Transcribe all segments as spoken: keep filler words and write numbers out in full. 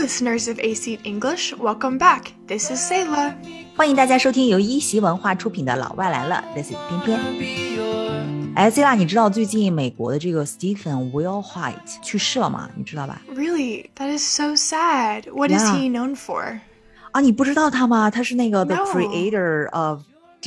listeners of A C English, welcome back. This is Sayla. 欢迎大家收听由一席文化出品的老外来了 This is 偏偏。哎 Sayla 你知道最近美国的这个 Stephen Wilhite 去世了吗？你知道吧？ Really? That is so sad. What is Yeah. he known for? 啊，你不知道他吗？他是那个 The No. creator of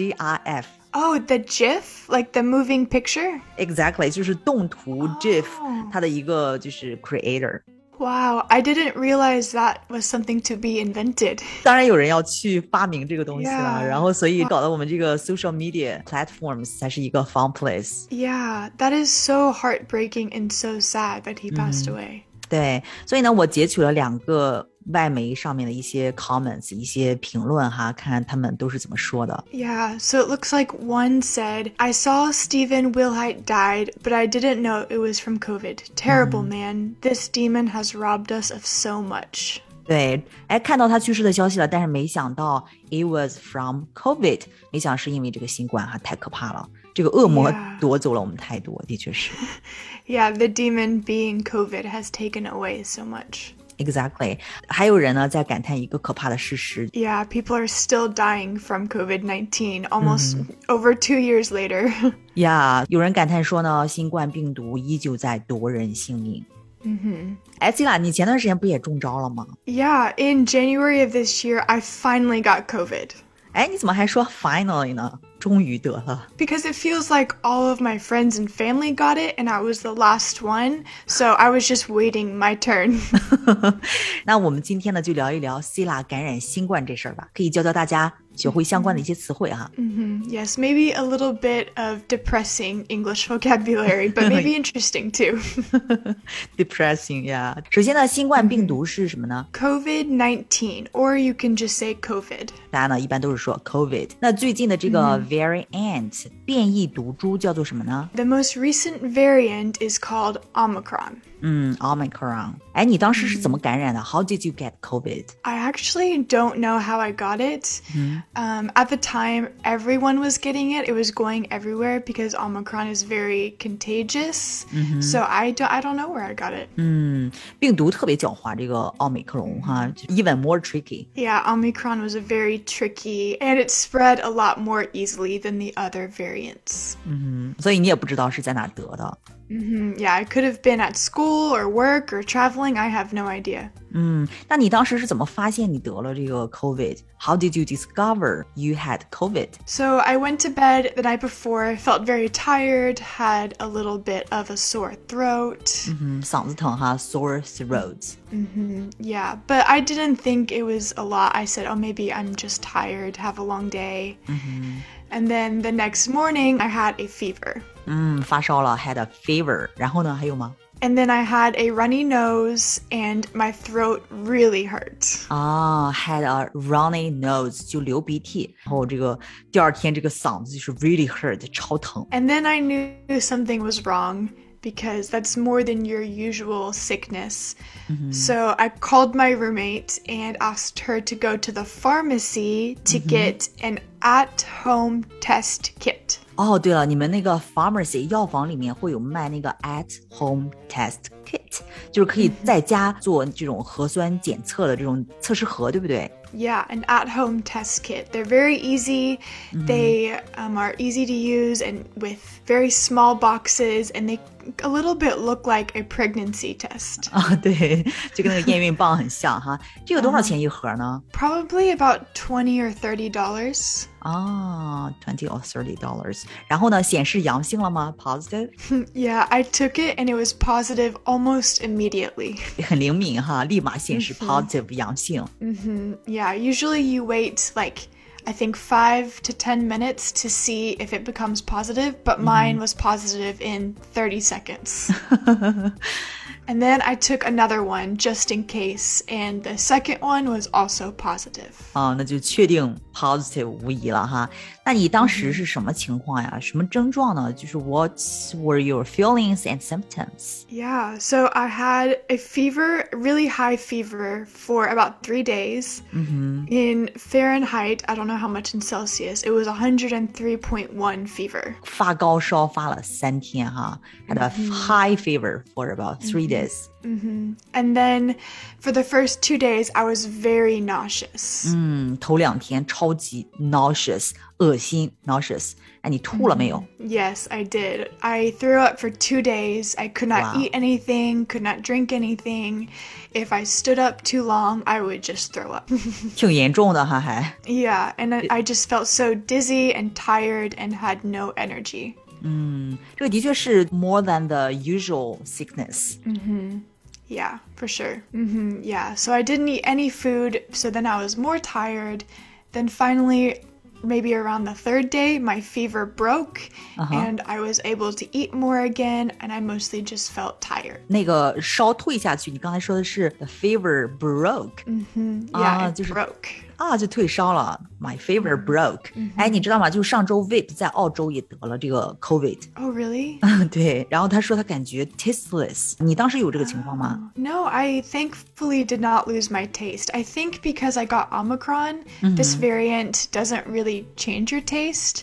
GIF。Oh, the GIF? Like the moving picture? Exactly, 就是动图 GIF、oh. 他的一个就是 creator。Wow, I didn't realize that was something to be invented. 当然有人要去发明这个东西了， yeah. 然后所以搞得我们这个 social media platforms 才是一个 fun place. Yeah, that is so heartbreaking and so sad that he passed、嗯、away. 对，所以呢我截取了两个外媒上面的一些 comments 一些评论哈，看看他们都是怎么说的。 Yeah, so it looks like one said, I saw Stephen Wilhite died, but I didn't know it was from COVID. Terrible、嗯、man. This demon has robbed us of so much. 对，哎，看到他去世的消息了，但是没想到 it was from COVID， 没想到是因为这个新冠哈，太可怕了，这个恶魔夺走了我们太多， yeah. 的确是。 Yeah, the demon being COVID has taken away so much.Exactly. 还有人呢在感叹一个可怕的事实。 Yeah, people are still dying from COVID nineteen almost、嗯、over two years later. Yeah, 有人感叹说呢，新冠病毒依旧在夺人性命。 嗯哼， 哎 Zila 你前段时间不也中招了吗？ Yeah, in January of this year, I finally got COVID. 哎，你怎么还说 finally 呢？终于得了。 Because it feels like all of my friends and family got it and I was the last one, so I was just waiting my turn. 那我们今天呢就聊一聊 Zila 感染新冠这事儿吧，可以教教大家学会相关的一些词汇哈。 Mm-hmm. Yes, maybe a little bit of depressing English vocabulary, but maybe interesting too. Depressing, yeah. 首先呢，新冠病毒是什么呢？ COVID nineteen, or you can just say COVID. 大家呢一般都是说 COVID。那最近的这个 variant、嗯、变异毒株叫做什么呢？ The most recent variant is called Omicron. 嗯 Omicron。哎，你当时是怎么感染的？ How did you get COVID? I actually don't know how I got it. 嗯 Um, at the time, everyone was getting it. It was going everywhere because Omicron is very contagious.、Mm-hmm. So I don't, I don't know where I got it. 嗯，病毒特别狡猾，这个奥密克戎哈 ，even more tricky. Yeah, Omicron was a very tricky, and it spread a lot more easily than the other variants. 嗯，所以你也不知道是在哪得的。 Mm-hmm. Yeah, I could have been at school or work or traveling. I have no idea. 嗯，那你当时是怎么发现你得了这个 COVID? How did you discover you had COVID? So I went to bed the night before, felt very tired, had a little bit of a sore throat. 嗯哼，嗓子疼哈 sore throat. Mm-hmm. Yeah, but I didn't think it was a lot. I said, oh, maybe I'm just tired, have a long day. Mm-hmm. And then the next morning, I had a fever. 嗯，发烧了 had a fever. 然后呢，还有吗？ And then I had a runny nose and my throat really hurt. 啊 had a runny nose 就流鼻涕，然后这个第二天这个嗓子就是 really hurt 超疼。 And then I knew something was wrong because that's more than your usual sickness. Mm-hmm. So I called my roommate and asked her to go to the pharmacy to mm-hmm. get an at-home test kit. 哦，对了，你们那个 pharmacy 药房里面会有卖那个 at-home test kit， 就是可以在家做这种核酸检测的这种测试盒，对不对？ Yeah, an at-home test kit. They're very easy. Mm-hmm. They um, are easy to use and with very small boxes, and they a little bit look like a pregnancy test. 啊，对，就跟那个验孕棒很像哈。这个多少钱一盒呢？ Probably about twenty or thirty dollars. 啊 ，twenty or thirty dollars. 然后呢，显示阳性了吗 ？Positive? Yeah, I took it and it was positive almost immediately. 很灵敏哈，立马显示 positive 阳性。 Mm-hmm. Yeah, usually you wait like I think five to ten minutes to see if it becomes positive, but mine was positive in thirty seconds. And then I took another one just in case, and the second one was also positive. 啊，那就确定 positive 无疑了哈。那你当时是什么情况呀？什么症状呢？就是 What were your feelings and symptoms? Yeah, so I had a fever, really high fever for about three days. Mm-hmm. In Fahrenheit, I don't know how much in Celsius, it was one hundred three point one fever. 发高烧发了三天哈， had a high fever for about three days. Mm-hmm. And then for the first two days, I was very nauseous. 嗯，头两天超级 nauseous， 恶心 nauseous。哎，你吐了没有？ Yes, I did. I threw up for two days. I could not Wow. eat anything, could not drink anything. If I stood up too long, I would just throw up. 挺严重的哈，还。 Yeah, and I, I just felt so dizzy and tired and had no energy. 嗯，这个的确是 more than the usual sickness. Yeah, for sure. hmm Yeah, so I didn't eat any food, so then I was more tired. Then finally, maybe around the third day, my fever broke, and I was able to eat more again, and I mostly just felt tired. 那个烧退下去，你刚才说的是 the fever broke. Yeah, Ah, it 就是 broke. 啊，就退烧了。My fever broke. 哎，你知道吗？就上周 Vip 在澳洲也得了这个 COVID。 Oh, really? 对，然后他说他感觉 tasteless。你当时有这个情况吗？ No, I thankfully did not lose my taste. I think because I got Omicron, this variant doesn't really change your taste.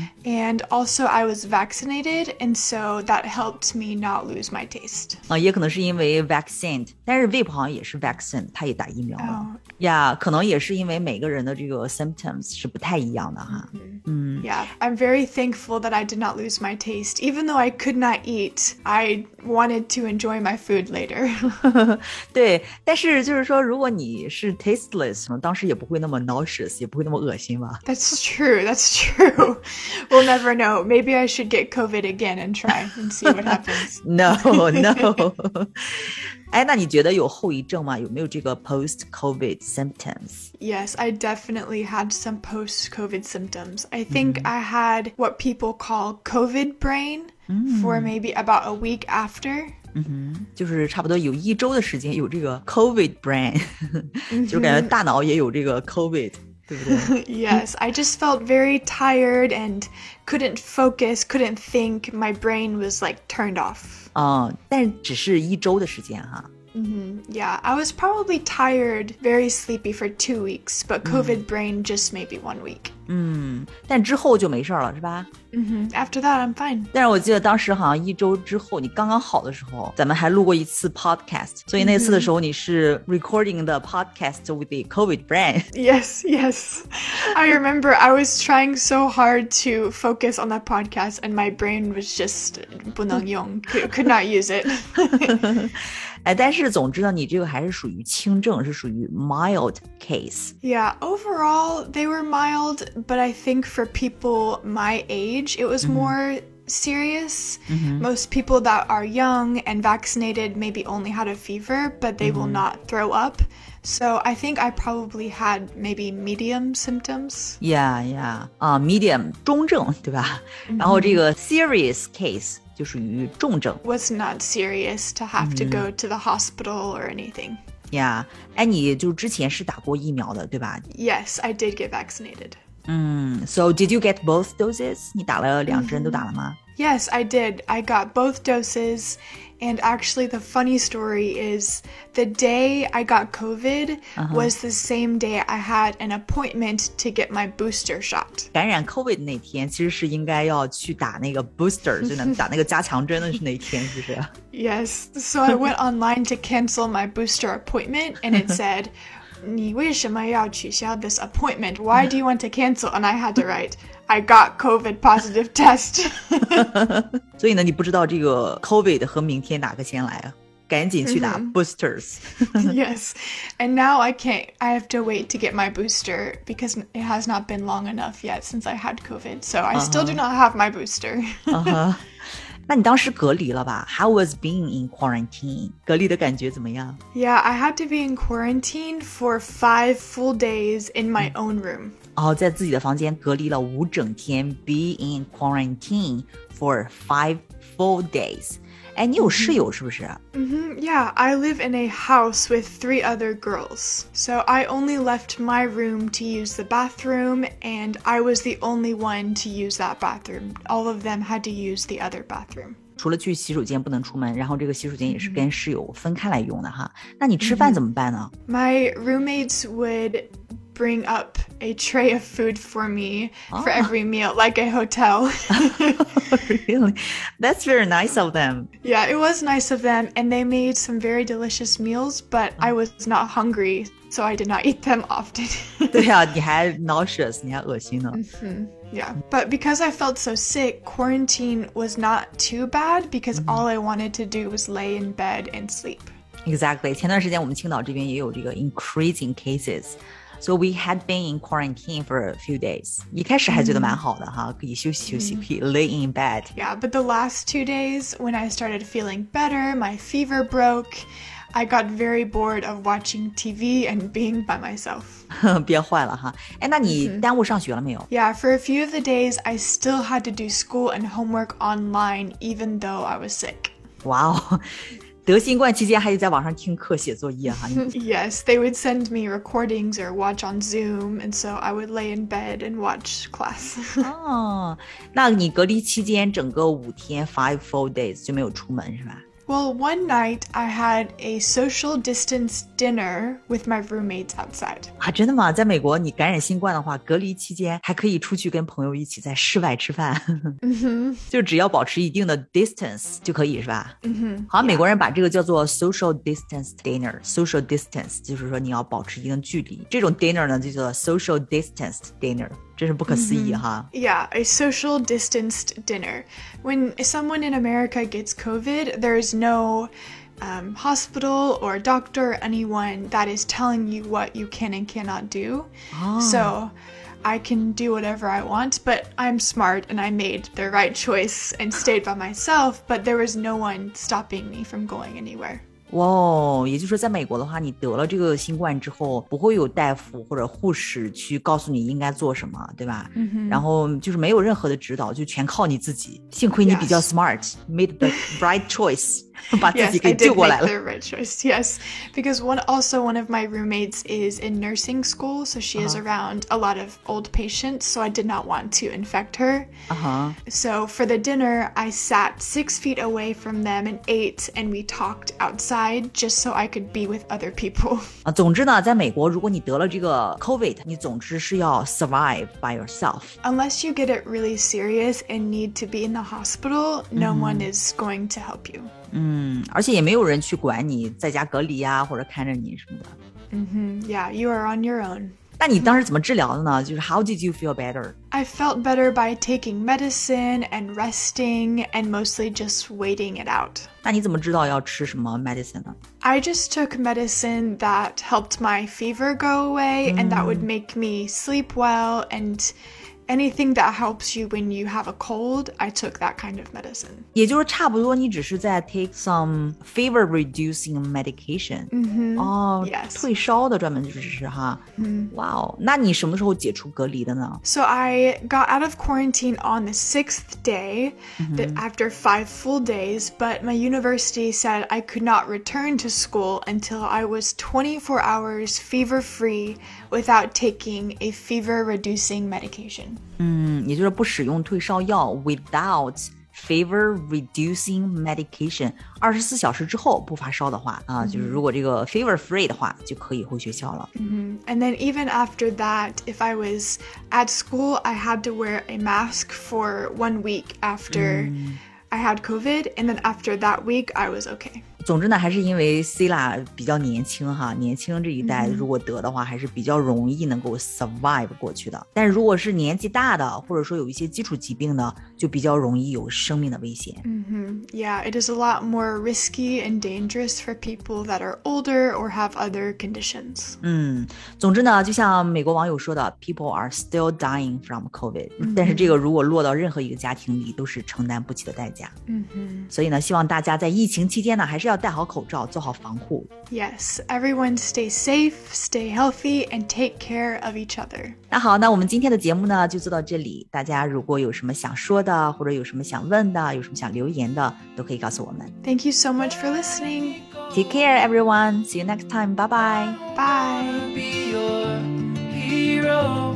And also I was vaccinated, and so that helped me not lose my taste. 啊，也可能是因为 vaccine， 但是 Vip 好像也是 vaccine， 他也打疫苗了。 Oh. 呀，可能也是因为每个人的这个 symptoms 是不太一样的哈。 Yeah, I'm very thankful that I did not lose my taste. Even though I could not eat, I wanted to enjoy my food later. 对，但是就是说，如果你是 tasteless，可能当时也不会那么 nauseous， 也不会那么恶心吧。 That's true, that's true. We'll never know. Maybe I should get COVID again and try and see what happens. No, no. 哎，那你觉得有后遗症吗？有没有这个 post-COVID symptoms? Yes, I definitely had some post-COVID symptoms. I think I had what people call COVID brain for maybe about a week after. 就是差不多有一周的时间有这个 COVID brain， 就是感觉大脑也有这个 COVID， 对不对？ Yes, I just felt very tired and couldn't focus, couldn't think. My brain was like turned off. 啊、但是只是一周的时间哈。 Yeah, I was probably tired, very sleepy for two weeks, but COVID brain just maybe one week. 嗯，但之后就没事了，是吧？ hmm After that, I'm fine. 但是我记得当时好像一周之后，你刚刚好的时候，咱们还录过一次 podcast， 所以那次的时候你是 recording the podcast with the COVID brain。 Yes, yes. I remember I was trying so hard to focus on that podcast, and my brain was just 不能用, could, could not use it. 哎，但是总之呢，你这个还是属于轻症，是属于 mild case。 Yeah, overall, they were mild, but I think for people my age, it was more serious. Most people that are young and vaccinated maybe only had a fever, but they will not throw up. So I think I probably had maybe medium symptoms. Yeah, yeah. 啊、medium 中症，对吧？然后这个 serious case 就属于重症。 Was not serious to have to go to the hospital or anything. Yeah， 哎，你就之前是打过疫苗的，对吧？ Yes, I did get vaccinated. 嗯 ，So did you get both doses？ 你打了两针都打了吗？ Yes, I did. I got both doses. And actually, the funny story is the day I got COVID was the same day I had an appointment to get my booster shot. 感染 COVID 那天，其实是应该要去打那个 booster， 就能打那个加强针的是那一天，是不是？ Yes, so I went online to cancel my booster appointment, and it said, 你为什么要取消 this appointment? Why do you want to cancel? And I had to write, I got COVID positive test. 所以呢，你不知道这个 COVID 和明天哪个先来啊？赶紧去打 boosters。 Yes, and now I can't, I have to wait to get my booster because it has not been long enough yet since I had COVID. So I still do not have my booster. 啊哈，那你当时隔离了吧？ How was being in quarantine？ 隔离的感觉怎么样？ Yeah, I had to be in quarantine for five full days in my own room. 哦，在自己的房间隔离了五整天 ，be in quarantine for five full days。哎，你有室友是不是？ Mm-hmm, yeah, I live in a house with three other girls. So I only left my room to use the bathroom, and I was the only one to use that bathroom. All of them had to use the other bathroom. 除了去洗手间不能出门，然后这个洗手间也是跟室友分开来用的哈。那你吃饭怎么办呢？ My roommates would bring up a tray of food for me oh. for every meal, like a hotel. Really? That's very nice of them. Yeah, it was nice of them, and they made some very delicious meals, but I was not hungry, so I did not eat them often. 对啊，你还 nauseous, 你还恶心呢。 Mm-hmm. Yeah, but because I felt so sick, quarantine was not too bad because mm-hmm. all I wanted to do was lay in bed and sleep. Exactly. 前段时间我们青岛这边也有这个 increasing cases. So we had been in quarantine for a few days. 一开始还觉得蛮好的哈，可以休息休息，可以 lay in bed. Yeah, but the last two days when I started feeling better, my fever broke. I got very bored of watching T V and being by myself. 憋坏了哈。哎，那你耽误上学了没有？ Yeah, for a few of the days, I still had to do school and homework online, even though I was sick. Wow. 得新冠期间还得在网上听课写作业哈。 Yes, they would send me recordings or watch on Zoom, and so I would lay in bed and watch class. 哦，那你隔离期间整个五天 five full days 就没有出门是吧？ Well, one night I had a social distance dinner with my roommates outside. 啊，真的吗？在美国，你感染新冠的话，隔离期间还可以出去跟朋友一起在室外吃饭， 嗯哼， 就只要保持一定的 distance 就可以，是吧？ 嗯哼， 好像美国人把这个叫做 social distance dinner。social distance 就是说你要保持一定距离，这种 dinner 呢就叫做 social distance dinner。真是不可思议哈。 Mm-hmm. Yeah, a social distanced dinner. When someone in America gets COVID, there's no um, hospital or doctor or anyone that is telling you what you can and cannot do. Oh. So I can do whatever I want, but I'm smart and I made the right choice and stayed by myself, but there was no one stopping me from going anywhere. 哇、wow, 也就是说在美国的话，你得了这个新冠之后不会有大夫或者护士去告诉你应该做什么，对吧、mm-hmm. 然后就是没有任何的指导，就全靠你自己，幸亏你比较 smart、yes. made the right choice 把自己给救过来了。 Yes, I did make the right choice, yes. Because one, also one of my roommates is in nursing school, so she is uh-huh. around a lot of old patients, so I did not want to infect her. Uh-huh. So for the dinner, I sat six feet away from them and ate, and we talked outside just so I could be with other people. 啊，总之呢，在美国，如果你得了这个 COVID， 你总之是要 survive by yourself. Unless you get it really serious and need to be in the hospital, no mm-hmm. one is going to help you. 嗯，而且也没有人去管你在家隔离啊，或者看着你什么的。 Mm-hmm. Yeah, you are on your own. 那你当时怎么治疗的呢？就是 how did you feel better? I felt better by taking medicine and resting and mostly just waiting it out. 那你怎么知道要吃什么 medicine 呢？ I just took medicine that helped my fever go away、mm. and that would make me sleep well and anything that helps you when you have a cold, I took that kind of medicine. 也就是差不多你只是在 take some fever reducing medication. 嗯哼， 哦， yes. 退烧的专门就是哈。 嗯， 哇哦，那你什么时候解除隔离的呢？ So I got out of quarantine on the sixth day, mm-hmm. after five full days, but my university said I could not return to school until I was twenty-four hours fever-free without taking a fever-reducing medication. 嗯，也就是不使用退烧药 without fever reducing medication 二十四小时之后不发烧的话啊、呃，就是如果这个 fever free 的话就可以回学校了。 Mm-hmm. And then even after that, if I was at school, I had to wear a mask for one week after、嗯、I had COVID, and then after that week, I was okay. 总之呢，还是因为 Sila 比较年轻哈，年轻这一代如果得的话，还是比较容易能够 survive 过去的。但是如果是年纪大的，或者说有一些基础疾病的，就比较容易有生命的危险。 Mm-hmm. Yeah, it is a lot more risky and dangerous for people that are older or have other conditions. 嗯，总之呢，就像美国网友说的 ，people are still dying from COVID、mm-hmm. 但是这个如果落到任何一个家庭里，都是承担不起的代价。 Mm-hmm. 所以呢，希望大家在疫情期间呢，还是要戴好口罩，做好防护。 Yes, everyone stay safe, stay healthy, and take care of each other. 那好，那我们今天的节目呢就做到这里。大家如果有什么想说的，或者有什么想问的，有什么想留言的，都可以告诉我们。 Thank you so much for listening. Take care, everyone. See you next time. Bye bye. Bye. Be your hero.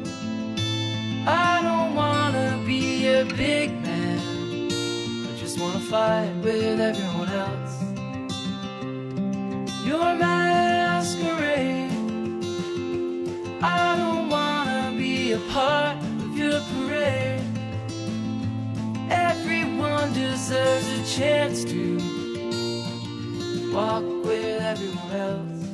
I don't wanna be a big man. I just wanna fight with everyone else. Your masquerade, I a part of your parade. Everyone deserves a chance to walk with everyone else.